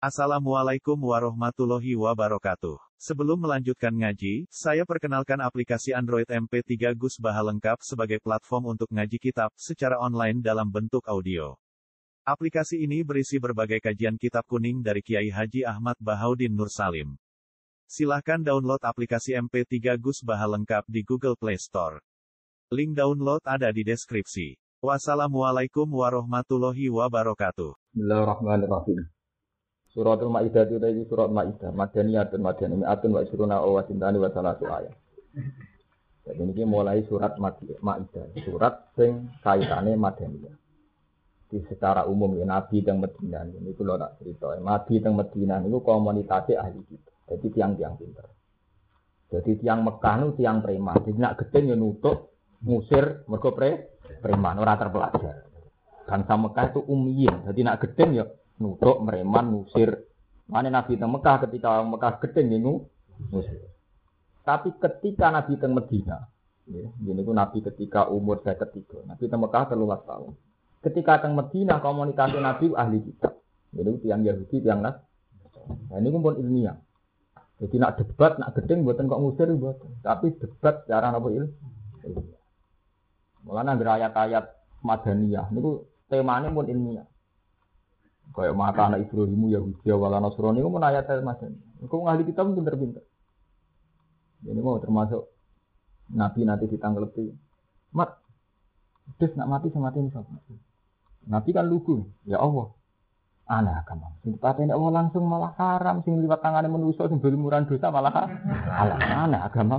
Assalamualaikum warahmatullahi wabarakatuh. Sebelum melanjutkan ngaji, saya perkenalkan aplikasi Android MP3 Gus Baha lengkap sebagai platform untuk ngaji kitab secara online dalam bentuk audio. Aplikasi ini berisi berbagai kajian kitab kuning dari Kiai Haji Ahmad Bahaudin Nur Salim. Silahkan download aplikasi MP3 Gus Baha lengkap di Google Play Store. Link download ada di deskripsi. Wassalamualaikum warahmatullahi wabarakatuh. Bismillahirrahmanirrahim. Suratul Maidah itu tadi surat Maidah, Madaniyatun Mi'atun wa isruna wa sintani wa salatu ayat. Jadi ini mulai surat Maidah, surat sing kaitane Madaniyah. Di secara umum ya Nabi teng Madinah ini kula tak cerita. Nabi teng Madinah niku komunitasé ahli kitab. Jadi tiang-tiang pinter. Jadi tiang Mekah niku tiang preman. Jadi nak gedeng ya nutuk ngusir mergo preman ora terpelajar. Bangsa Mekah itu ummiyin. Jadi nak gedeng ya nutuk preman ngusir. Mane Nabi teng Mekah ketika orang Mekah gedeng ya ngusir. Tapi ketika Nabi teng Madinah, ya, ini ku Nabi ketika umur 53. Nabi teng Mekah 13 tahun. Ketika teng Madinah komunitas Nabi ahli kitab. Jadi tiang Yahudi, tiang Nas. Nah ini pun ilmiah. Jadi nak debat, nak gedeng buatan kok ngusir buatan. Tapi debat secara apa ilmiah. Mulane anggere ayat-ayat Madaniyah niku temane pun ilmiah. Kayak maka anak Ibrahimu Yahudi wala Nasrani niku pun ayat Madaniyah. Niku ahli kitab pinter-pinter. Ini mau termasuk Nabi nanti ditanglepi. Mat, terus nak mati sama mati ini sapa? Nabi kan lugu. Ya Allah. Aneh agama. Sing patene Allah langsung malah haram, sing liwat tangane manusa sing berlumuran dosa malah halal. Aneh agama.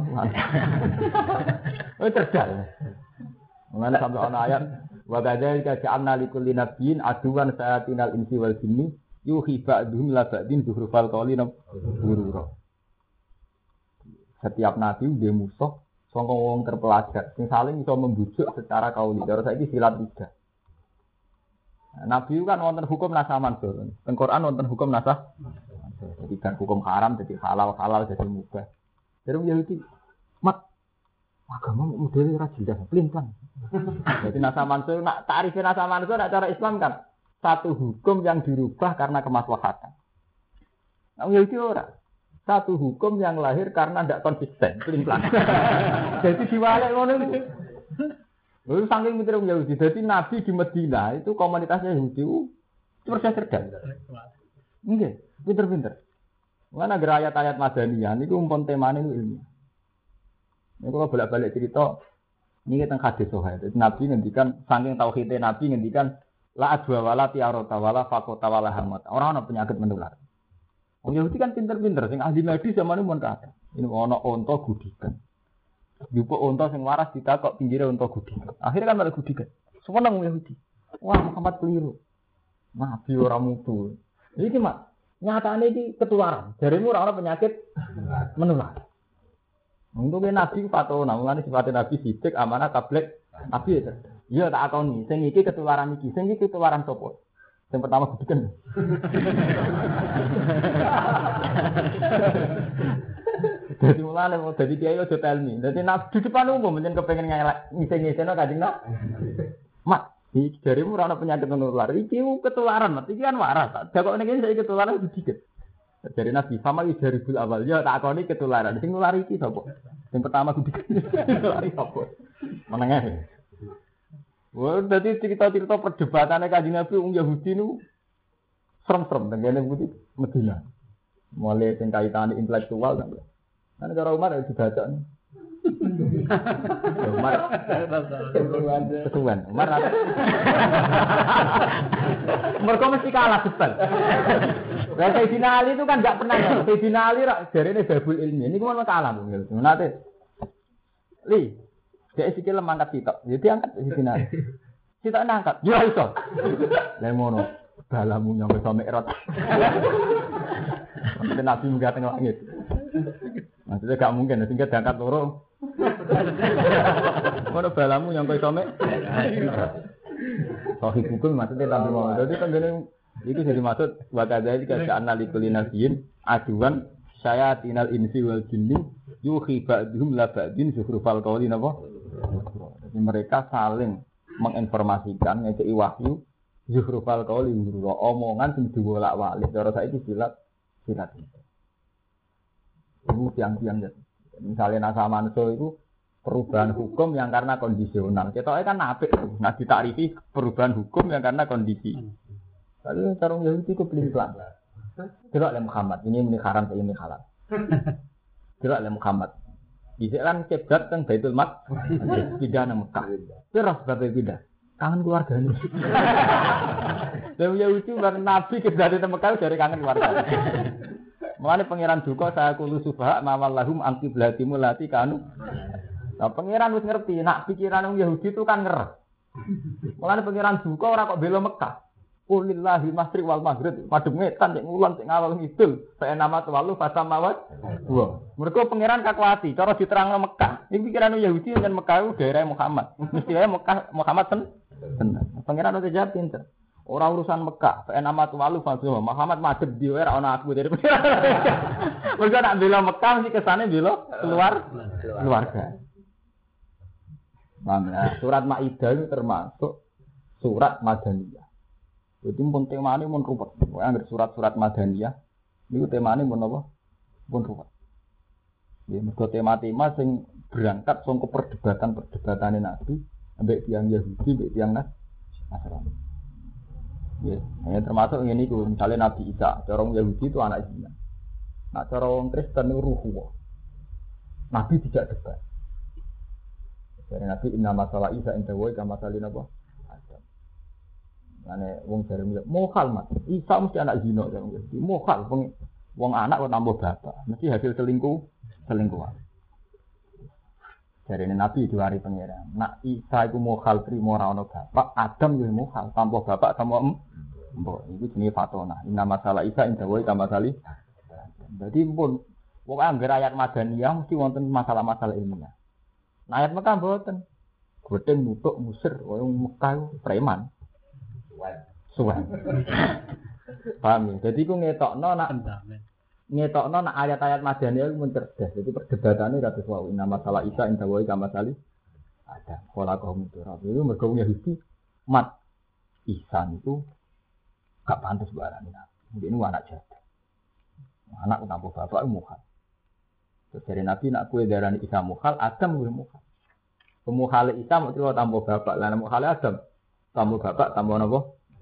Oh cerdas. Mengenai sampai ana ayat wa kadzalika ja'alna likulli nabiyyin aduwan sayatinal insi wal jinni yuhi ba'dhum la ba'din zuhrufal qawli ghurura. Setiap nabi dia musuh sangka wong terpelajar sing saling iso membujuk secara kauli. Cara saiki silat 3. Nabi kan wonten hukum nasah mansur. Teng Quran wonten hukum nasah. Jadi kan hukum haram jadi halal jadi mubah. Jadi Yahudi mat agama model ora jelas, pelin-pelan. Jadi nasah mansur nak tarifin nasah mansur nak cara Islam kan satu hukum yang dirubah karena kemaslahatan. Nah Yahudi ora. Satu hukum yang lahir karena tidak konsisten, pelin-pelan. Jadi diwalek ngono niku. Lalu saking pinter Yahudi, jadi Nabi di Madinah itu komunitasnya Yahudi itu persis cerdas. Nggih, pinter-pinter. Mana ayat-ayat Madaniyah niku umpun temane niku ilmiah. Nek kula bolak-balik cerita niki teng hadis sahih. Nabi ngendikan saking tauhide Nabi ngendikan la adwa wala tiarota wala faqata wala hamat. Ora ana penyakit menular. Wong Yahudi kan pinter-pinter sing ahli medis zamane mun kathah. Ini ana unta gudikan. Jupuk unta sing waras ditakok pinggire unta gudikan. Akhirnya kan malah gudikan. Seneng Yahudi. Wah, Muhammad keliru. Nabi ora mutu. Iki mak nyatane iki ketularan. Jaremu ora ana penyakit menular. Untungnya Nabi fatona, mulane sifate Nabi sidik amanah tablek Nabi ya. Iya tak akoni, sing iki ketularan iki, sing iki ketularan sapa? Yang pertama gudikan. Jadi mulane mau dadi kiai aja telmi. Dadi Nabi di depan umum menyen kepengin ngisi-ngisino Kanjeng Nabi. Mak, iki jarimu ora ana penyakit menular. Iki ketularan, Mat. Iki kan waras. Dakok ning iki ketularan gudikan. Dari Nabi sama dari awal ya tak akoni ketularan. Sing nulari iki sapa? Yang pertama gudikan. Nulari sapa? Menengah. Wah, dadi cerita-cerita perdebatannya Kanjeng Nabi wong Yahudi niku serem-serem tengene putih Madinah. Mulai sing kaitane intelektual kan. Kan cara Umar ya dibaca nih. Umar ketuan. Umar mereka mesti kalah debat. Lah Sayyidina Ali itu kan enggak pernah ya. Sayyidina Ali rak jarene babul ilmi. Ini kemana kalah mungkin. Nate. Li, dia sikile mangkat sitok. Jadi angkat Sayyidina Ali. Sitok nangkat. Ya iso. Lah ngono. Balamu nyampe sampe erot. Sampai Nabi munggah teng langit. Maksudnya gak mungkin, sehingga diangkat loro. Ngono balamu nyampe sampe. Sahih hukum maksudnya Nabi mau. Jadi kan gini, itu jadi maksud wakadai jika analikul nasiin aduan saya tinal insi wal jinni yuhi ba'dhum la ba'din zuhrufal qawli napa. Jadi mereka saling menginformasikan ngekei wahyu Zuhrufal qauli ghurura, omongan sing diwolak-walik cara saiki silat itu. Itu tiang-tiang ya. Misalnya nasa manso itu perubahan hukum yang karena kondisional. Kita kan apik. Nah ditarifi perubahan hukum yang karena kondisi. Tapi cara Yahudi itu pelin-pelan. Delok le Muhammad, ini haram ini halal. Delok le Muhammad. Dhisik kan kiblat teng Baitul Maqdis, pindah nang Mekah. Terus bae pindah. Kangen keluargane. Lah Yahudi bareng Nabi kiblat teng Mekah dari kangen keluargane. Mulane pangeran duka saya kulo subha mawallahum an qiblatimu lati kanu. Nah pangeran wis ngerti nak pikiran wong Yahudi itu kan ngereh. Mulane pangeran duka ora kok bela Mekah. Qulillahi masri wal maghrib madhep ngetan nek ngulon sing ngalor ngidul saya nama tuwalu fasamawat wa mergo pangeran kakuati cara diterangno Mekah iki pikiran Yahudi dan Mekah itu daerah Muhammad mesti wae Mekah Muhammad tenan pangeran udah jawab pinter ora urusan Mekah saya nama tuwalu fasamawat Muhammad madhep di wae ora ana aku dari pangeran mergo nak bela Mekah mesti kesane bela keluarga Nah, surat Maidah itu termasuk surat Madaniyah. Jadi pun temane mun ruwet. Pokoke anggere surat-surat Madaniyah niku temane mun apa? Pun ruwet. Ya mergo tema-tema sing berangkat saka perdebatan-perdebatane Nabi ambek tiyang Yahudi, ambek tiyang Nasrani. Ya, termasuk ngene iku, misale Nabi Isa, cara wong Yahudi itu anak zina. Nah, cara wong Kristen itu ruh. Nabi tidak debat. Dari Nabi inna masalah Isa inda wa kama salina apa? Ane wong jare mohal Mas. Isa mesti anak zina jare mesti. Mohal wong anak kok tambah bapak. Mesti hasil selingkuhan. Jare Nabi diwari pangeran. Nak Isa iku mohal trimo ora ana bapak, Adam yo mohal tambah bapak sama mbok. Iku jenenge fatona. Inna masalah Isa inda wa kama sali. Dadi pun wong anggere ayat Madaniyah mesti wonten masalah-masalah ilmiah. Nah, ayat Mekah mboten. Godheng nutuk musir wong Mekah preman. Suwen. Paham ya? Jadi ku ngetokno nak ayat-ayat Madaniyah mun cerdas. Jadi perdebatannya kados wau inna masalah Isa inda wa kama sali. Ada pola kaum itu. Itu mergo Yahudi mat Isa itu gak pantas barang ini. Ini anak jahat. Anak tambah bapak mukhal. Terus dari Nabi nak kue darani Isa mukhal, Adam kue mukhal. Pemukhal Isa mau cerita tambah bapak, lain mukhal Adam tambah bapak tambah apa?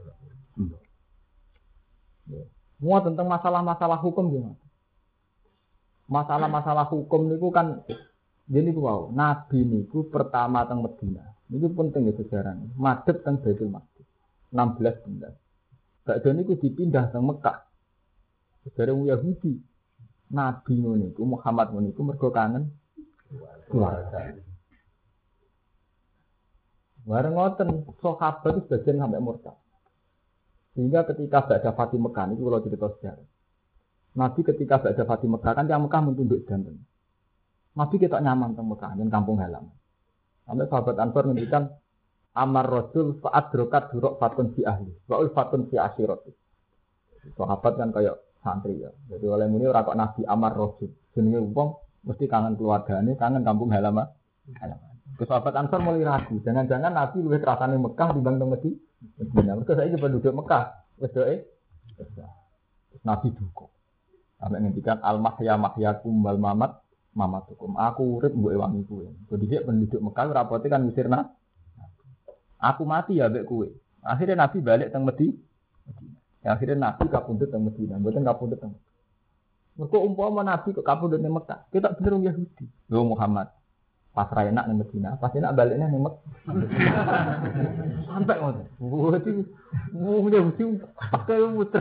Semua tentang masalah-masalah hukum gimana? Masalah-masalah hukum niku kan jadi wow, Nabi niku pertama teng Madinah. Niku penting ya sejarahnya. Madhep teng Baitul Maqdis 16 bulan. Badhe niku dipindah teng Mekah. Sejarah Yahudi. Nabi niku Muhammad niku mergo kangen keluarga. Bareng ngoten sahabat itu sebagian sampai murtad. Sehingga ketika Ba'da Fatih Mekah niku kula cerita sejarah. Nabi ketika Ba'da Fatih Mekah kan yang Mekah mentunduk danten. Nabi ketok nyaman teng Mekah yen kampung halaman. Sampai sahabat Ansor ngendikan amar rasul fa'adrokat duruk fatun fi ahli wa fatun fi asyirat. Sahabat kan kayak santri ya. Jadi oleh muni ora kok Nabi amar rasul. Jenenge wong mesti kangen keluargane, kangen kampung halaman. Sahabat Ansor mulai ragu, jangan-jangan Nabi luwih kerasane Mekah dibanding Madinah. Mergo saiki penduduk Mekah wis Nabi duka. Sampai ngendikan al-mahya mahyakum wal mamat mamatukum. Aku urip mbok ewangi kowe. Jadi penduduk Mekah rapote kan ngusirna. Aku mati ya mbek kowe. Akhirnya Nabi balik teng Madinah. Akhirnya Nabi kapundhut teng Madinah, mboten kapundhut teng. Mergo umpama Nabi kok kapundhut teng Mekah, kita bener wong Yahudi. Lho Muhammad pas ra enak ning Madinah, pas enak baliknya ning Mekah. Sampai ngono. Berarti wong Yahudi pakai muter.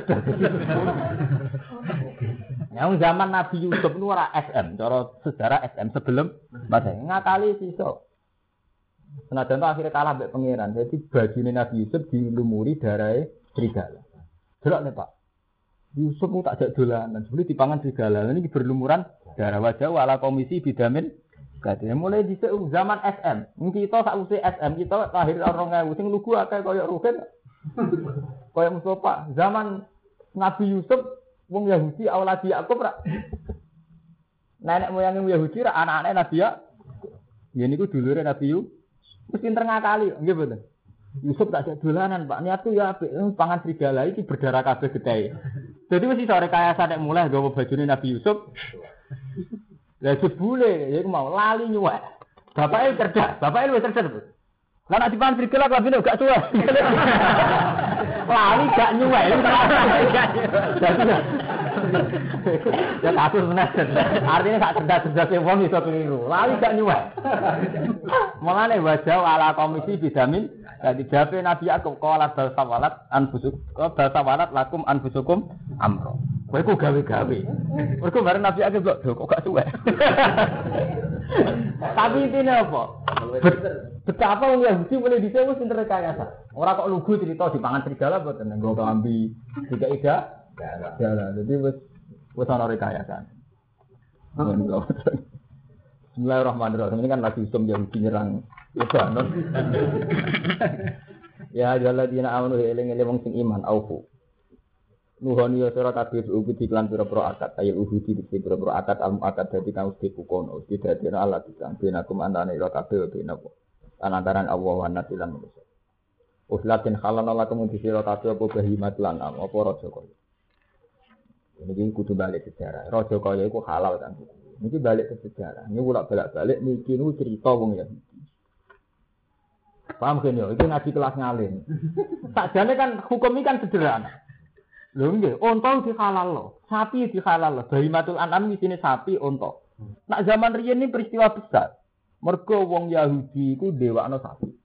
Yang zaman Nabi Yusuf itu ora SM, cara sejarah SM sebelum Masehi ngakali sisa. Senajan itu akhirnya kalah mbek pangeran. Jadi bajune Nabi Yusuf dilumuri darahe serigala. Delok nih Pak. Yusuf mu tak jak dolanan, sebelum dipangan serigala. Ini berlumuran darah wajah wala komisi bidamin. Katanya mulai di zaman SM. Kita sakwise SM kita lahir 2000 sing lugu akeh kaya Ruhin. Kaya Mustafa. Zaman Nabi Yusuf wong Yahudi awaladi Yakub ra. Nenek moyang Yahudi ra anak-anak Nabi ya. Ya niku dulure Nabi Yusuf. Wis pinter ngakali, nggih mboten. Yusuf tak ada dolanan, Pak. Niat tuh ya apik, pangan serigala iki berdarah kabeh getahe. Jadi mesti sore kaya sadek mulai gawa bajune Nabi Yusuf. Lah jebule ya iku mau lali nyuwek. Bapake cerdas, bapake luwih cerdas. Lah nek dipangan serigala klambine gak suwe. Lali gak nyuwek. Ya kasus bener. Artinya gak cerdas-cerdas wong iso keliru. Lali gak nyuwek. Mulane wajah ala komisi bidamin dadi jawabe Nabi Yakub qala bal sawalat lakum anfusukum amro. Kowe ku gawe-gawe. Mergo bareng Nabi Yakub kok gak suwe. Tapi intine apa? Betapa wong Yahudi mulai dhisik wis pinter rekayasa. Ora kok lugu cerita dipangan serigala mboten nggo klambi tiga ida. Jalan. Jadi wis ana rekayasa. Bismillahirrahmanirrahim. Ini kan lagi usum Yahudi nyerang Lebanon. Ya ayyuhalladzina amanu eling-eling wong sing iman aufu. Nuhoni sira kabeh ugi diklan pira-pira akad ayo uhudi diklan pira-pira akad akad dadi kang dipukono didadekno Allah disang benakum antane ira kabeh benapa antaran Allah wa nasilan manusa. Uslatin khalana lakum sira kabeh apa bahimat lan apa raja kaya. Ini kudu balik sejarah. Raja kaya iku halal kan. Niki balik ke sejarah. Ini ulak balik niki nu cerita wong Yahudi. Paham kan yo? Iki ngaji kelas ngalim. Sakjane kan hukum iki kan sederhana. Lho nggih, unta dihalalno, sapi dihalalno, bahimatul an'am isine sapi, unta. Nak zaman riyen ini peristiwa besar. Mergo wong Yahudi iku ndewakno sapi.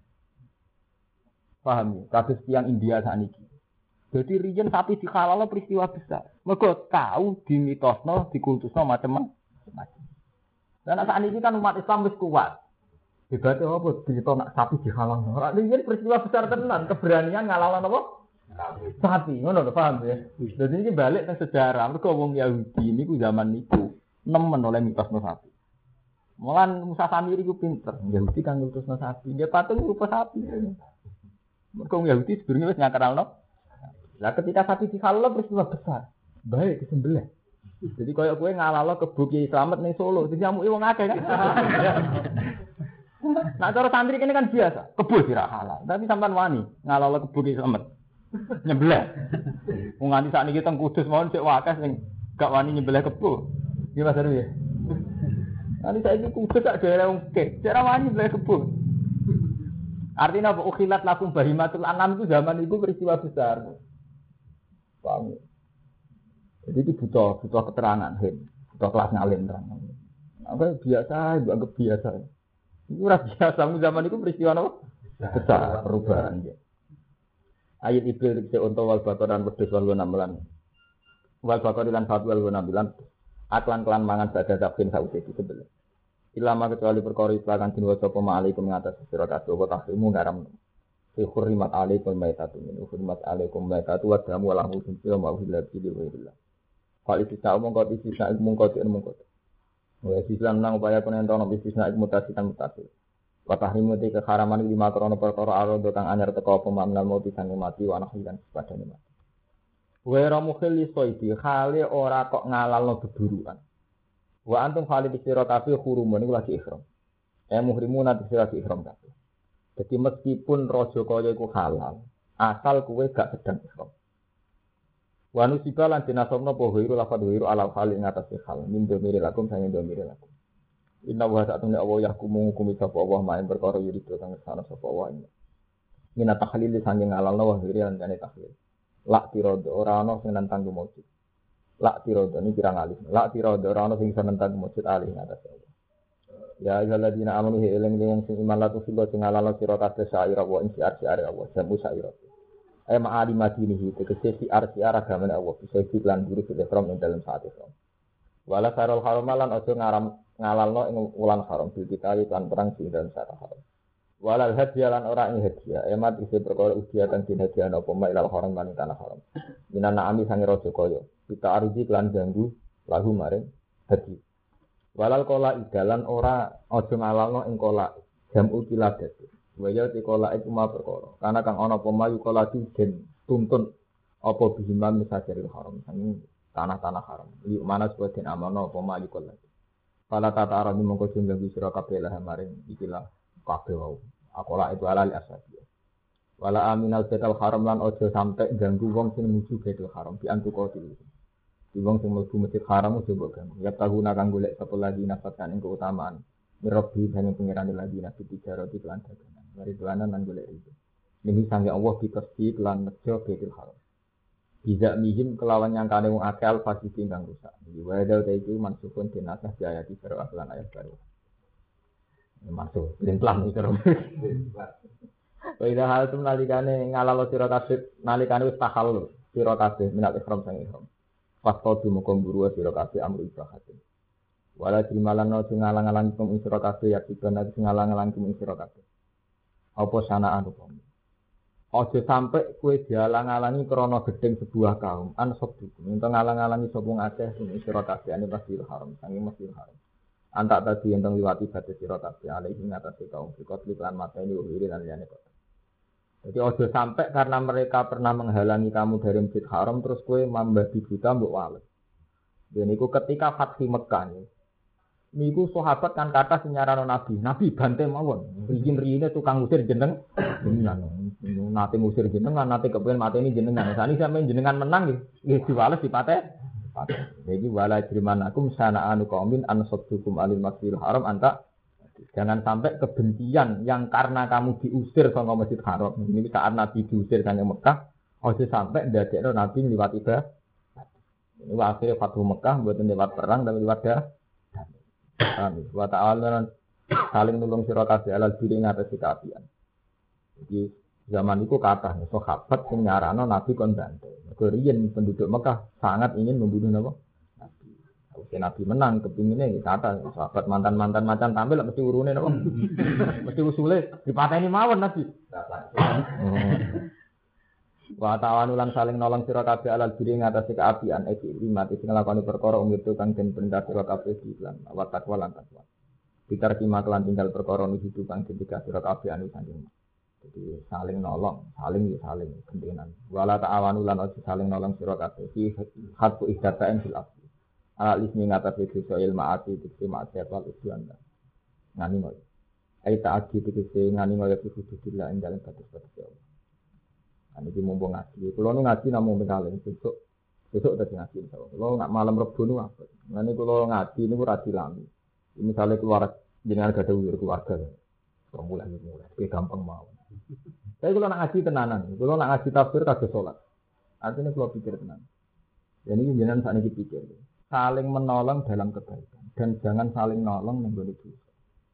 Paham ya? Kados tiyang India sakniki. Jadi riyen sapi dihalalno peristiwa besar. Mergo tahu dimitosno, dikultusno macam-macam. Dan sakniki kan umat Islam wis kuat. Hebate apa cerita nak sapi dihalalno. Ora riyen peristiwa besar tenan, keberanian ngalalno apa? Sapi, ngono lho paham ya. Jadi ini balik ke sejarah. Mergo wong Yahudi niku zaman niku nemen oleh mitosno sapi. Mulan Musa Samiri ku pinter. Yahudi kang ngurusno sapi. Dia patung rupa sapi. Mergo wong Yahudi sedurunge wis ngakralno. Lah ketika sapi dihalal peristiwa besar. Baik disembelih. Jadi koyo kowe ngalalno kebo Kiai Slamet ning Solo, dijamuki wong akeh kan. Nah cara santri kene kan biasa, kebo sira halal. Tapi sampean wani ngalalno kebo Kiai Slamet. Nyembelih. Wong nganti sakniki teng Kudus mawon sik wakas sing gak wani nyembelih kebo. Nggih Mas Heru ya. Nanti saiki Kudus sak daerah wong kek, cara wani nyembelih kebo. Artinya apa? Ukhilat lakum bahimatul an'am itu zaman itu peristiwa besar. Paham. Jadi itu butuh keterangan, butuh kelas ngalim terang. Apa biasa, anggap biasa. Itu ora biasa zaman itu peristiwa apa? Besar, perubahan ya. Ayat ibil dikse unta wal baqaran wedhus wal ghanam wal baqaran fat wal ghanam aklan kelan mangan badha takfin sauce disebel ilama kecuali perkara islakan din waca pema alaikum ngatas sira kabeh wa tahrimu ngaram fi hurrimat alaikum maitatu min hurrimat alaikum maitatu wa damu wal lahmu sira ma hilal bi billah fal istisna mongko istisna mongko wa istisna nang upaya penentono istisna mutasikan mutasil wa tahrimu te keharaman lima krana perkara arodo kang anyar teka apa mamnal mati sang mati wa nahyan padane mati. Wa ramukhil soidi khale ora kok ngalalno beburukan. Wa antum khali sira kabeh hurumun iku lagi ihram. Muhrimun ati sira lagi ihram kabeh. Dadi meskipun raja kaya iku halal, asal kowe gak sedang ihram. Wa nusiba lan dinasobno apa wiru lafadz wiru ala khali ngatas hal min domire lakum sange domire lakum. Inna wa ta'ala Allah yahkumu hukumi sapa Allah main perkara yurido kang sana sapa Allah. Mina tahlil sange ngalalno wa hiri lan kane tahlil. Lak tirodo ora ana sing nentang mujud. Lak tirodo ini kirang alih. Lak tirodo ora ana sing nentang mujud alih ngatas Allah. Ya ayyuhalladzina amanu eling sing iman latu sila sing ngalalno sira kabeh syaira wa insiar-siare Allah jamu syaira. Ay ma'ali madinihi tegese siar agamane Allah bisa iklan guru filem ing dalam saat itu. Wala sarul haramalan aja ngalalno ing wulan haram bil kita lan perang sing dalam saat haram. Walal hadiah lan ora ing hadiah emat isi perkara ujian kang dinhadiah apa ma ilal haram lan tanah haram. Minan na'ami sange raja kaya kita arji lan ganggu lahu maring hadi. Walal kola idalan ora aja ngalalno ing kola jamu kiladat. Waya ti kola iku ma perkara. Karena kang ana apa ma kola den tuntun apa bihiman misajaril haram sange tanah-tanah haram. Yuk mana supaya den amalno apa ma kola. Fala tata arabi mongko sing ganggu sira kabeh lah maring ikilah kabeh wau. Akola itu alal asadi. Wala aminal Baitul Haram lan ojo sampai ganggu wong sing nuju Baitul Haram di antukotil. Di wong sing mlebu Masjid Haram ojo mbok ganggu. Ya tahuna kang golek sapa lagi nafatan ing keutamaan. Mirabbi hanya pengiran lagi nabi tiga roti lan dagangan. Mari dolanan lan golek itu. Ini sange Allah dikesti lan nejo Baitul Haram. Bisa mihim kelawan yang kane wong akal fasiki kang rusak. Wa dal ta iki mansukun dinasah di ayat baru lan ayat baru. Masuk, pelan iki karo. Waidah hal itu nalikane ngalalo sira kabeh nalikane wis tahallul sira kabeh minal ihram sang ihram. Faqadu mukum buru sira kabeh amru ibahatin. Wala dimalano sing ngalang-alang kum sira kabeh ya dibana sing ngalang-alang kum sira kabeh. Apa sanaan hukum. Aja sampai kowe dialang-alangi krana gedeng sebuah kaum an sabdukum. Ento ngalang-alangi sapa ngakeh sing sira kabeh ane Masjidil Haram, sange Masjidil Haram. Antak tadi entong liwati batas sira kabeh alaihi ngatasi kaum fikot lan mateni wiri lan liyane kok. Jadi ojo sampai karena mereka pernah menghalangi kamu dari Masjid Haram terus kue membabi buta mbok wales. Dan itu ketika Fathu Mekah niku sahabat kan kata senyarano Nabi, Nabi bantai mawon. Riyin-riyine tukang usir jenengan. Nate ngusir jenengan, nate kepen mateni jenengan. Sani sampeyan jenengan menang nggih diwales dipate. Jadi wala jrimanakum sana'anu qaumin an saddukum alil Masjidil Haram anta. Jangan sampai kebencian yang karena kamu diusir sama Masjid Haram. Ini saat Nabi diusir dari Mekah, ojo sampai ndadekno Nabi liwat ibadah. Ini akhirnya Fathu Mekah buatan lewat perang dan lewat dah. Wa ta'ala saling nulung sira kabeh alal diri ngatasi kaapian. Jadi zaman itu kata sahabat sing nyarano Nabi kon bantai. Riyen penduduk Mekah sangat ingin membunuh Nabi. Nabi menang kepinginnya kata sahabat mantan-mantan macan tampil mesti urune napa mesti usule dipateni mawon Nabi wa ta'awanulan saling nolong sira kabeh alal diri ngatasi keapian iki mati sing nglakoni perkara umurtu kang den perintah sira kabeh dilan wa takwa lan takwa pitar kima kelan tinggal perkara nuju kang ketika sira kabeh anu saking jadi saling nolong saling gendenan wala ta'awanulan ojo saling nolong sira kabeh fi hakku ihdatain fil asli alis ni ngatasi dosa ilmaati dikse maksiat wal usyan ngani ngoy ai taati dikse ngani ngoy hududillah ing dalem batas-batas Allah. Ani iki mumpung ngaji. Kulo nu ngaji namung bekalen besok dadi ngaji insyaallah. Kulo nak malam Rebo nu apa. Ngene kulo ngaji niku ra dilami. Misale keluar jenengan gadah keluarga. Mulai. Iki gampang mawon. Tapi kulo nak ngaji tenanan. Kulo nak ngaji tafsir kagak salat. Artinya kulo pikir tenan. Ya niki jenengan sakniki pikir. Saling menolong dalam kebaikan dan jangan saling nolong menggolek dosa.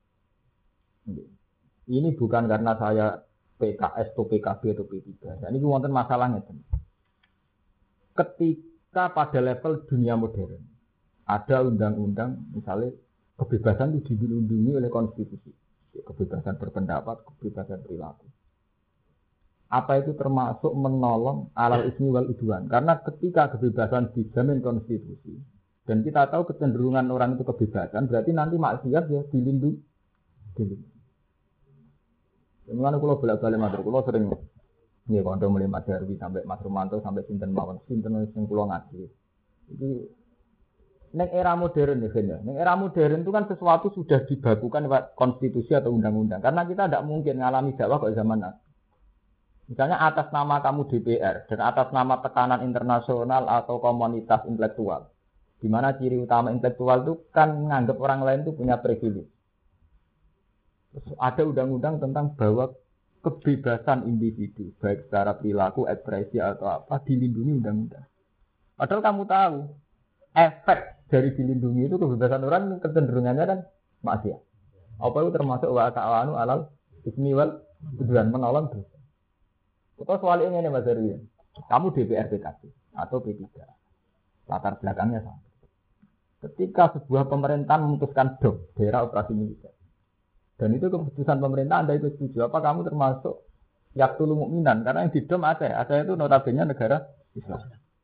Ini bukan karena saya PKS atau PKB atau P3. Dan ini wonten masalahnya. Ketika pada level dunia modern ada undang-undang misalnya kebebasan itu dilindungi oleh konstitusi. Kebebasan berpendapat, kebebasan perilaku. Apa itu termasuk menolong alal ismi wal udwan? Karena ketika kebebasan dijamin konstitusi dan kita tahu kecenderungan orang itu kebebasan, berarti nanti maksiat ya dilindungi. Mulane kula bolak-balik matur, kula sering nggih kanca mulai Mas Darwi sampai Mas Romanto sampai sinten mawon, sinten sing kula ngaji. Iki ning era modern ya, ning era modern itu kan sesuatu sudah dibakukan lewat konstitusi atau undang-undang. Karena kita tidak mungkin ngalami dakwah kok zaman now. Misalnya atas nama kamu DPR dan atas nama tekanan internasional atau komunitas intelektual. Di mana ciri utama intelektual itu kan menganggap orang lain itu punya privilege. Terus ada undang-undang tentang bahwa kebebasan individu, baik secara perilaku, ekspresi atau apa, dilindungi undang-undang. Padahal kamu tahu, efek dari dilindungi itu kebebasan orang kecenderungannya kan maksiat. Apa itu termasuk wa ta'awanu alal ismi wal udwan menolong dosa. Kita soalnya ini Mas Darwi, kamu DPR PKB atau P3, latar belakangnya sama. Ketika sebuah pemerintahan memutuskan DOM, daerah operasi militer, dan itu keputusan pemerintah Anda itu setuju, apa kamu termasuk yaktul mukminan? Karena yang di DOM Aceh itu notabene negara Islam.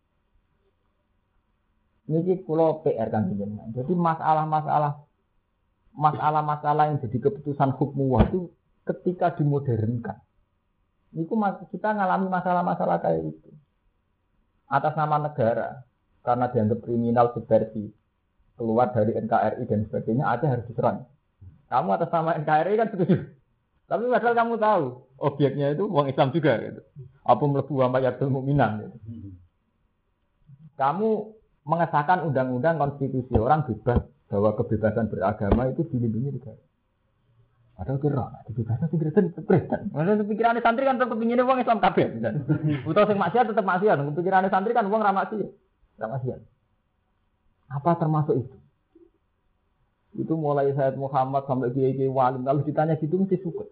Ini kalau PR kan jenengan. Jadi masalah-masalah yang jadi keputusan hukum itu ketika dimodernkan. Niku kita ngalami masalah-masalah kayak itu. Atas nama negara, karena dianggap kriminal subversi, keluar dari NKRI dan sebagainya, Aceh harus diserang. Kamu atas nama NKRI kan setuju. Tapi padahal kamu tahu objeknya itu uang Islam juga gitu. Apa mlebu wa mayatul mukminan gitu. Kamu mengesahkan undang-undang konstitusi orang bebas bahwa kebebasan beragama itu dilindungi negara. Padahal kira, kebebasan itu Kristen. Maksudnya pikirannya santri kan tetap ingin uang Islam kabeh. Utawa sing maksiat tetap maksiat. Pikirannya santri kan uang ramasi. Ramasian. Apa termasuk itu? Itu mulai Sayyid Muhammad sampai Kiai Wali. Kalau ditanya gitu mesti suka.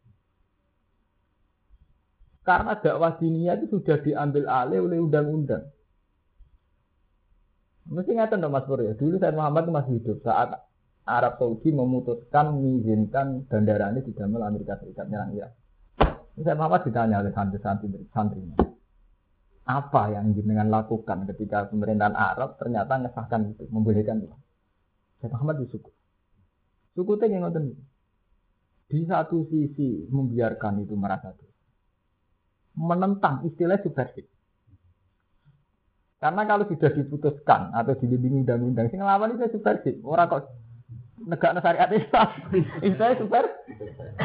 Karena dakwah diniyah itu sudah diambil alih oleh undang-undang. Mesti ngatakan dong Mas Pur ya. Dulu Sayyid Muhammad itu masih hidup saat Arab Saudi memutuskan mengizinkan bandara ini didamel Amerika Serikat nyerang Irak. Sayyid Muhammad ditanya oleh santrinya. Apa yang jenengan lakukan ketika pemerintahan Arab ternyata mengesahkan itu, membolehkan itu? Sayyid Muhammad bersyukur. Syukurnya yang ngoten. Di satu sisi membiarkan itu merasa dosa. Menentang istilah subversif. Karena kalau sudah diputuskan atau dilindungi undang-undang, sing nglawan itu subversif. Ora kok negakno syariat Islam. Istilahnya subversif.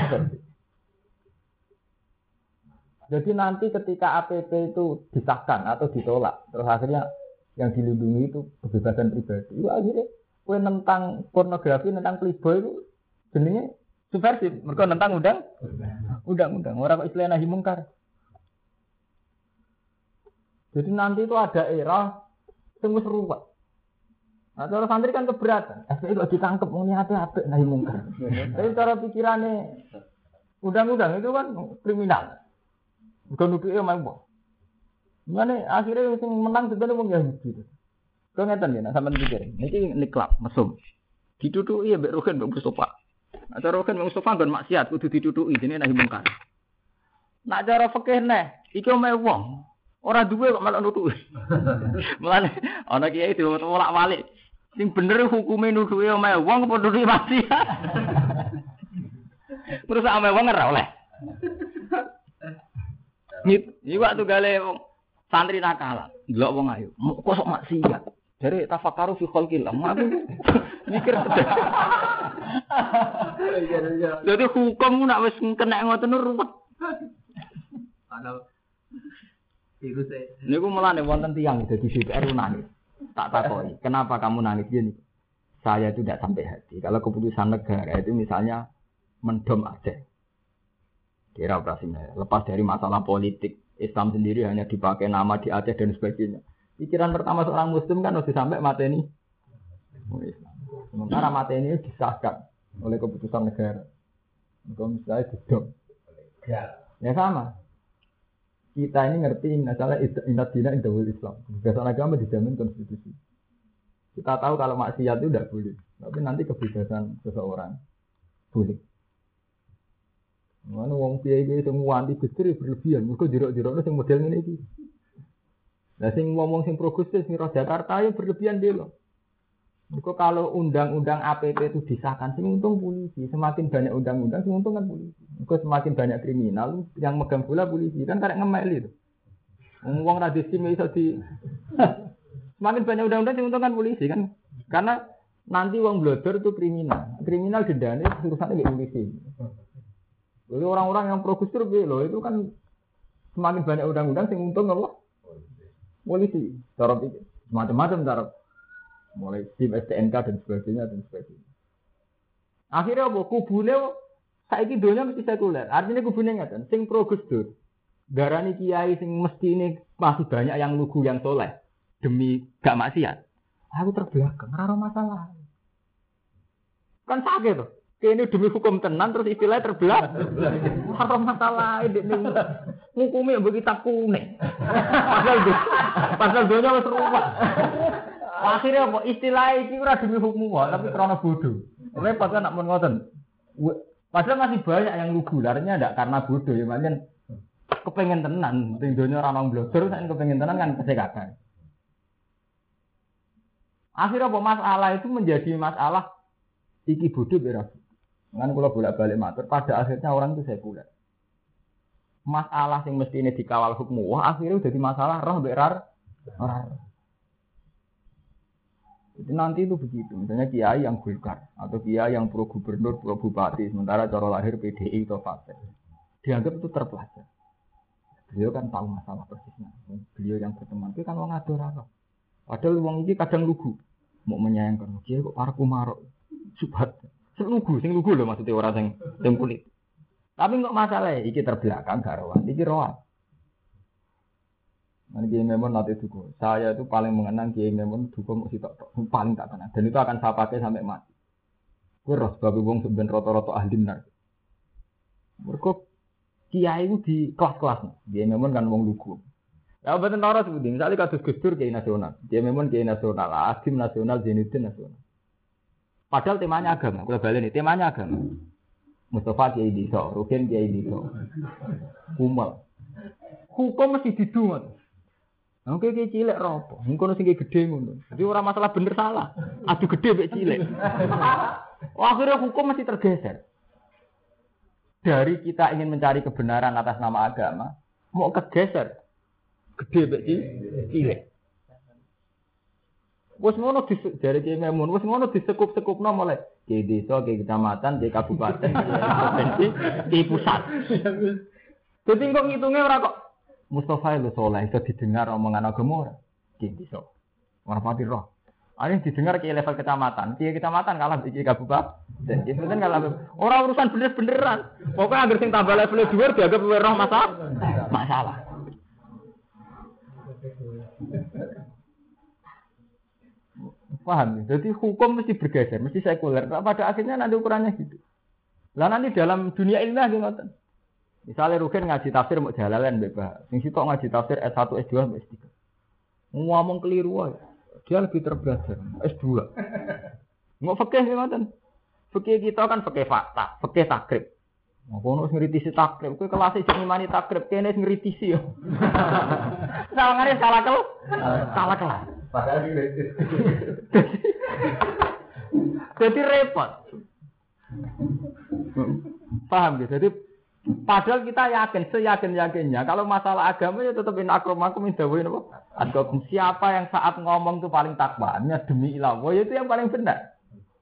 Jadi nanti ketika APP itu disahkan atau ditolak, terus akhirnya yang dilindungi itu kebebasan pribadi. Itu akhirnya kowe nentang pornografi, nentang playboy itu jenenge subversif. Mergo nentang undang-undang. Ora kok istilah nahi mungkar. Jadi nanti itu ada era sing wis ruwet. Nah, cara santri kan keberatan. FPI kok ditangkep muni apik nahi mungkar. Tapi cara pikirane undang-undang itu kan kriminal. Bukan nuduke omah wong. Mane akhirnya sing menang sebenarnya wong Yahudi. Kok ngeten ya, sampean pikir. Niki niklap mesum. Ditutuki ya mbek Rogen mbek Mustofa. Nah, cara Rogen mbek Mustofa nggon maksiat kudu ditutuki jenenge nahi mungkar. Nak cara fikih neh, iki omah wong. Ora duwe kok malah nutuki. Mulane ana kiai diwolak-walik. Sing bener hukume nutuki omah wong apa nutuki maksiat. Terus omah wong ora oleh. Iki waktu gale santri nakalan, ndelok wong ayu. Kok sok maksiat. Jare tafakkaru fi khalqillah. Aku mikir. Jadi hukum nak wis kena ngoten ruwet. Ana iku sih. Niku mulane wonten tiyang dadi DPR nangis. Tak takoki, kenapa kamu nangis gini? Saya itu tidak sampai hati. Kalau keputusan negara itu misalnya mendom Aceh. Kira operasinya. Lepas dari masalah politik, Islam sendiri hanya dipakai nama di Aceh dan sebagainya. Pikiran pertama seorang Muslim kan harus sampai mateni Islam. Sementara mateni disahkan oleh keputusan negara. Kalau misalnya didom. Ya sama. Kita ini ngerti masalah inat dina indahul Islam. Kebebasan agama dijamin konstitusi. Kita tahu kalau maksiat itu tidak boleh. Tapi nanti kebebasan seseorang boleh. Mana wong kiai-kiai semua anti Gusdur berlebihan. Mergo jerok-jerokno sing model ngene iki. Lah sing ngomong sing pro Gusdur sing roh Jakarta ya berlebihan dhewe lho. Mergo kalau undang-undang APP itu disahkan sing untung polisi, semakin banyak undang-undang sing untung kan polisi. Mergo semakin banyak kriminal yang megang bola polisi kan karek ngemeli itu. Wong ra disim iso di semakin banyak undang-undang sing untung kan polisi kan. Karena nanti wong blodor itu kriminal. Kriminal dendane urusane mbek polisi. Jadi orang-orang yang pro Gusdur loh itu kan semakin banyak undang-undang sing untung apa? Polisi. Cara pikir macam-macam cara mulai tim STNK dan sebagainya. Akhirnya apa? Kubune saiki donya mesti sekuler. Artinya kubune ngaten, sing pro Gusdur. Darani kiai sing mesti ini masih banyak yang lugu yang soleh demi gak maksiat. Aku terbelakang, ora masalah. Kan sakit tuh. Ini demi hukum tenan terus istilahnya terbelah. Ora masalah ini ngukumi mbok kitab kuning. Pasal donya wis ruwet. Akhirnya apa istilah iki ora demi hukum wae tapi krana bodoh. Repot kan nak mun ngoten. Padahal masih banyak yang lugu larinya ndak karena bodoh ya pancen kepengen tenan, ning donya ora nang blogger sak kepengen tenan kan kesekakan. Akhirnya apa masalah itu menjadi masalah iki bodoh beras. Kan kalau bolak-balik matur, pada akhirnya orang itu sekuler. Masalah yang mesti ini dikawal hukum, wah akhirnya jadi masalah roh berar. Jadi nanti itu begitu, misalnya kiai yang Golkar atau kiai yang pro gubernur, pro bupati, sementara cara lahir PDI atau Partai, dianggap itu terpelajar. Beliau kan tahu masalah persisnya. Beliau yang berteman itu kan orang adorator. Padahal wong iki kadang lugu, mau menyayangkan kiai kok para kumarok, subhat, sing lugu loh maksudnya orang yang kulit. Tapi nggak masalah, iki terbelakang garawan, iki rohan. Kiai Memon nanti duku. Saya itu paling mengenang Kiai Memon duku mau sitok paling tak kenal. Dan itu akan saya pakai sampai mati. Gue roh sebagai wong sebenarnya roto-roto ahli benar. Mereka Kiai itu di kelas-kelas. Kiai Memon kan wong lugu. Ya betul taruh sebutin. Misalnya kasus Gus Dur Kiai nasional. Kiai Memon Kiai nasional. Asim nasional, Zainuddin nasional. Padahal temanya agama. Kalau balik ini temanya agama. Mustafa Kiai Diso, Rukin Kiai Diso, Kumal. Hukum mesti didungan. Oke, kayak cilik ropo. Mungkin sing gede ngono. Jadi orang masalah bener salah. Adu gede mek cilik. Akhirnya hukum masih tergeser. Dari kita ingin mencari kebenaran atas nama agama, mau kegeser gede mek cilik. Wes ngono dari Kiai Memun, wes ngono disekup-sekupno mulai Kiai desa, Kiai kecamatan, Kiai kabupaten, Kiai provinsi, Kiai pusat. Jadi kok ngitungnya ora kok Mustafa itu soleh, itu didengar omongan agama orang. Jadi so, orang pati roh. Ada yang didengar ke level kecamatan. Kiai kecamatan kalah di kabupaten. Dan itu kan kalah. Orang urusan beneran. Pokoknya agar sing tambah level 2 dianggap roh masalah. Paham? Jadi hukum mesti bergeser, mesti sekuler. Pada akhirnya nanti ukurannya gitu. Lah nanti dalam dunia ilmiah gitu. Misalnya Rukin ngaji tafsir mau jalalan bebas. Sing sitok ngaji tafsir S1, S2, S3. Ngomong keliru aja. Dia lebih terbelajar. S2. Mau fikih ngoten. Fikih kita kan fikih fakta, fikih takrib. Ngono ngeritisi takrib, kowe kelas sing ngimani takrib kene ngeritisi yo. Salangane salah kelas. Padahal ngeritisi. Jadi repot. Paham gitu. Jadi padahal kita yakin, seyakin-yakinnya kalau masalah agama ya tetap akromakum indawin apa? Agama siapa yang saat ngomong itu paling takwanya demi ilawah itu yang paling benar.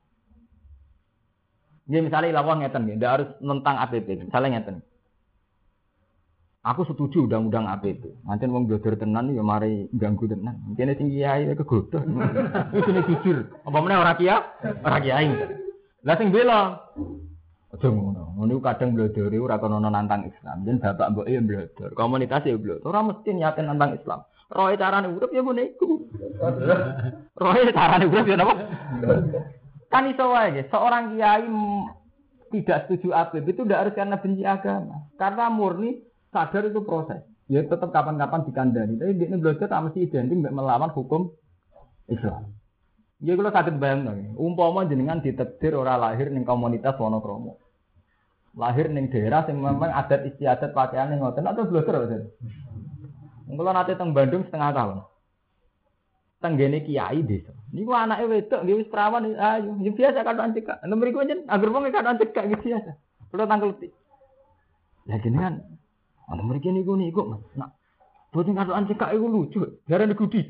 Ya misalnya ilawah ngeten nggih, ndak harus nentang APP. Misalnya ngeten. Aku setuju undang-undang APP. Pancen wong blodor tenan ya mari ganggu tenan. Kene sing kiai kegodoh. Itu nek jujur. Apa meneh ora kiai. Lah sing bela aja ngono. Ngono kadang blodore ora kono nantang Islam. Jen bapak mboke ya blodor. Komunitas ya blodor. Ora mesti niaten nantang Islam. Roe carane urip ya ngene iku. Roe carane urip ya napa? Kan iso wae. Seorang kiai tidak setuju APB itu tidak harus karena benci agama. Karena murni sadar itu proses. Ya tetap kapan-kapan dikandani. Tapi ini blodor tak mesti identik melawan hukum Islam. Ya kalau sakit bayang, umpama jenengan ditakdir ora lahir ning komunitas Wonokromo, lahir ning daerah yang memang adat istiadat pakaian yang ngoten atau blogger ngoten. Kalau nanti teng Bandung setengah tahun, tenggene kiai desa. Niku anake wedok nggih wis perawan ayo, ya biasa kadang cekak. Nek mriku njen agar wong kadang cekak gitu biasa. Kalau tangkel ti. Lah jenengan ana mriki niku nak boten kadang cekak iku lucu, jarane gudi.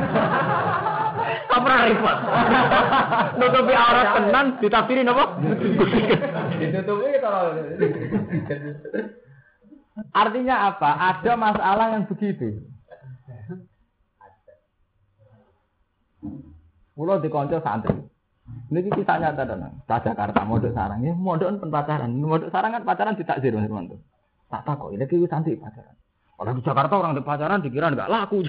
Apa repot? Nutupi aurat tenan ditafsiri napa? Ditutupi kalau. Artinya apa? Ada masalah yang begitu. Pulau di konco santri. Niki kisah nyata tenan. Sa Jakarta mondok sarang. Ya mondok pen pacaran. Mondok sarang kan pacaran ditakdir Mas Mantu. Tak takok iki santri pacaran. Kalau di Jakarta orang di pacaran dikira enggak laku.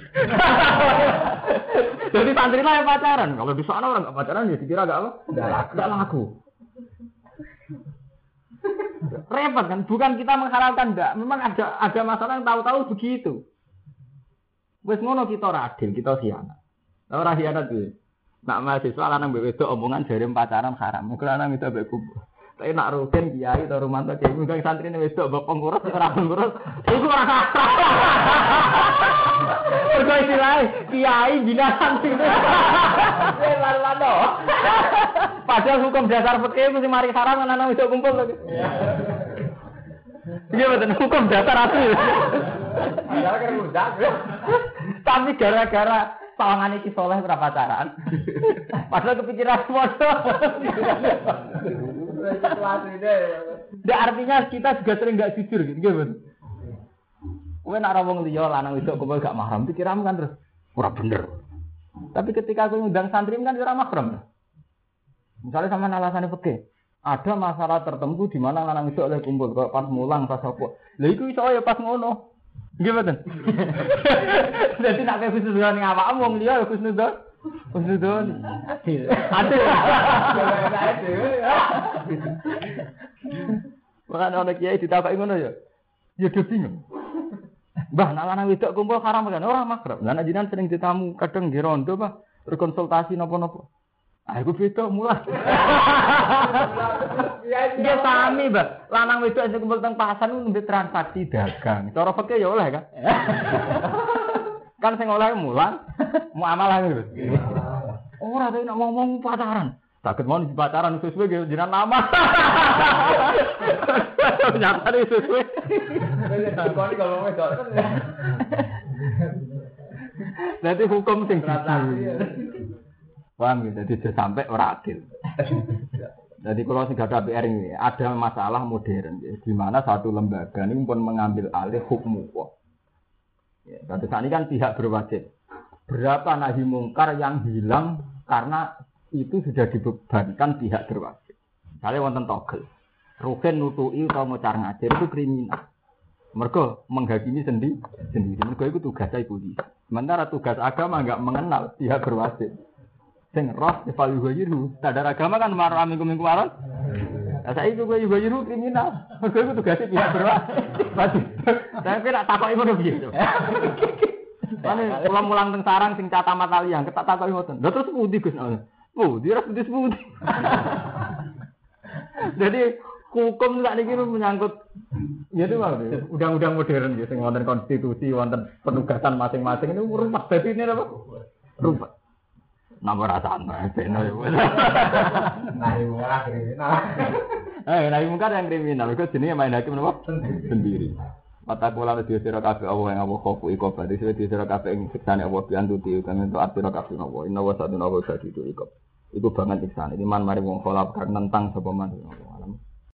Jadi santri lah yang pacaran. Kalau di sana orang enggak pacaran ya dikira enggak laku. Repot kan? Bukan kita menghalalkan enggak. Memang ada masalah yang tahu-tahu begitu. Wes ngono kita ora adil, kita khianat. Ora khianat kuwi. Nak mahasiswa lanang mbek wedok omongan jare pacaran haram. Mung lanang itu mbek kubu. Tapi nak Rukin kiai atau Rumanto kiai mungkin santrine wedok mbok pengurus ora pengurus. Iku ora sah. Mergo istilahé kiai bina santri. Lalo. Padahal hukum dasar fikih mesti mari haram lanang wedok kumpul lho. Iya betul hukum dasar asli. Padahal kan mudah. Tapi gara-gara Sawangane iki soleh ora pacaran. Padahal kepikiran bodoh. Ndak artinya kita juga sering enggak jujur gitu, nggih, kowe nek ora wong liya lanang wedok kumpul gak mahram pikiranmu kan terus ora bener. Tapi ketika kowe ngundang santri kan ora mahram. Misalnya sama alasane fikih, ada masalah tertentu di mana lanang wedok oleh kumpul kok pas mulang pas apa. Lha iku iso ya pas ngono. Nggih mboten. Dadi nek kowe khusnudon ning awakmu wong liya khusnudon. Khusnudon. Adil. Bukan ana kiai ditakoki ngono ya. Ya do bingung. Mbah, nek lanang wedok kumpul haram kan ora makrab. Lah nek jenengan sering ditamu kadang nggih rondo, Pak, berkonsultasi napa-napa. Ah, iku beda mulai. Ya sami, Mbah. Lanang wedok sing kumpul teng pasar ku nembe transaksi dagang. Cara fikih ya oleh kan. Kan sing oleh mulan, muamalah gitu. Ora tau nek ngomong pacaran. Sakit mau di pacaran sesuai gitu jenengan nama. Nyata nih sesuai. Kalau wedok. Nanti hukum sing paham gitu, jadi sampai ora adil. Jadi kalau sing gak ada PR ini, ada masalah modern, ya, di mana satu lembaga ini pun mengambil alih hukum Allah. Ya, saat ini kan pihak berwajib. Berapa nahi mungkar yang hilang karena itu sudah dibebankan pihak berwajib. Misalnya wonten togel, rugen nutui atau ngocar ngajar itu kriminal. Mereka menghakimi sendiri. Mereka itu tugasnya polisi. Sementara tugas agama enggak mengenal pihak berwajib. Sing roh evaluasi sadar agama kan marah minggu malam. Nah, saya itu gue juga kriminal. Mereka itu tugasnya pihak berwajib. Saya kira takoki ngono piye. Ane mulang teng sarang sing cata mata liyang ketak takoki ngoten. Lha terus pundi Gus? Dia harus disebut. Jadi hukum saat ini menyangkut, jadi undang-undang modern, gitu, wonten konstitusi, wonten penugasan masing-masing ini rumput. Jadi ini apa? Rumput. Nama rasa aneh, benar. Nahi mungkar kriminal. Nahi mungkar yang kriminal. Itu jenisnya main hakim apa? Sendiri. Mata kula di sira kabeh Allah yang Allah khofu iku badhe di sira kabeh ing siksane Allah piantuti kan entuk atira kabeh Allah. Inna wa satuna wa sadidu iku. Iku banget siksane. Iman mari wong kholaf kan nentang sapa man.